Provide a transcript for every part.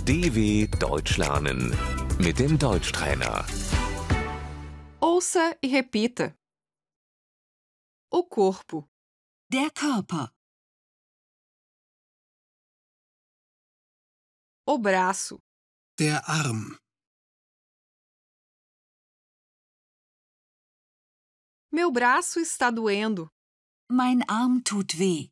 DW Deutsch lernen mit dem Deutschtrainer. Ouça e repita. O corpo, Der Körper, o braço, Der Arm, meu braço está doendo. mein Arm tut weh.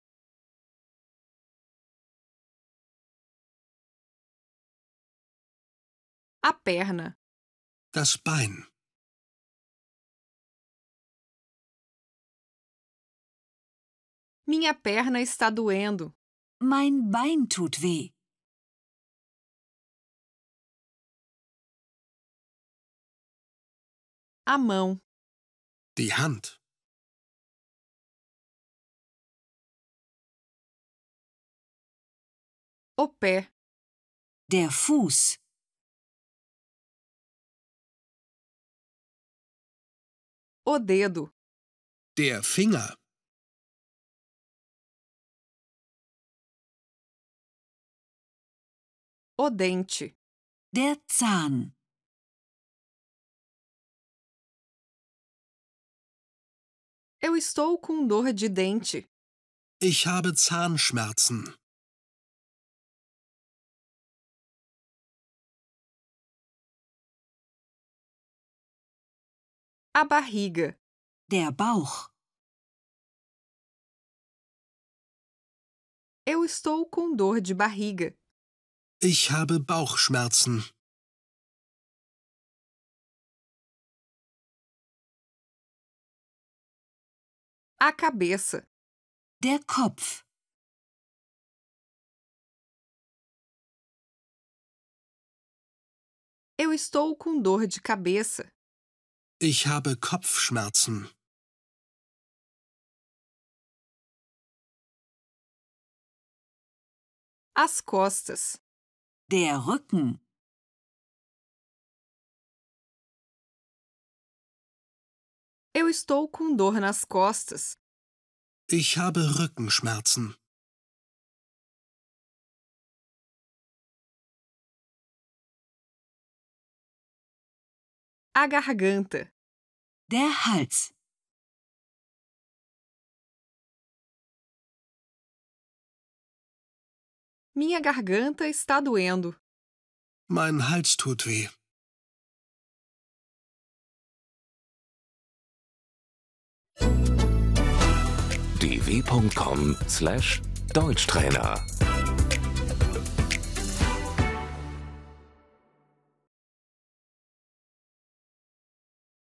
A perna, das Bein, minha perna está doendo. Mein Bein tut weh. A mão, die Hand, o pé, Der Fuß, o dedo, der Finger, o dente, der Zahn, eu estou com dor de dente. ich habe Zahnschmerzen. A barriga, der Bauch, eu estou com dor de barriga. Ich habe Bauchschmerzen. A cabeça, der Kopf, eu estou com dor de cabeça. Ich habe Kopfschmerzen. As costas, der Rücken, eu estou com dor nas costas. Ich habe Rückenschmerzen. A garganta, der Hals, minha garganta está doendo. Mein Hals tut weh. dw.com/Deutschtrainer